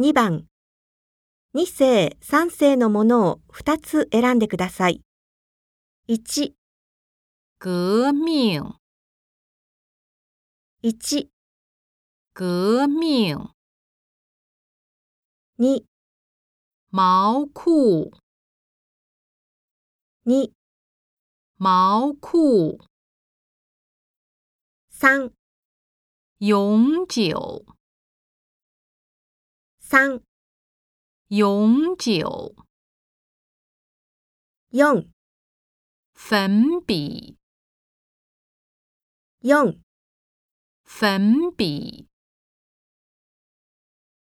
2番、2世、3世のものを2つ選んでください。1、 革命 1、 革命 2、 毛裤 2、 毛裤 3、 永久 3、 永久 4、 粉笔 4、 粉笔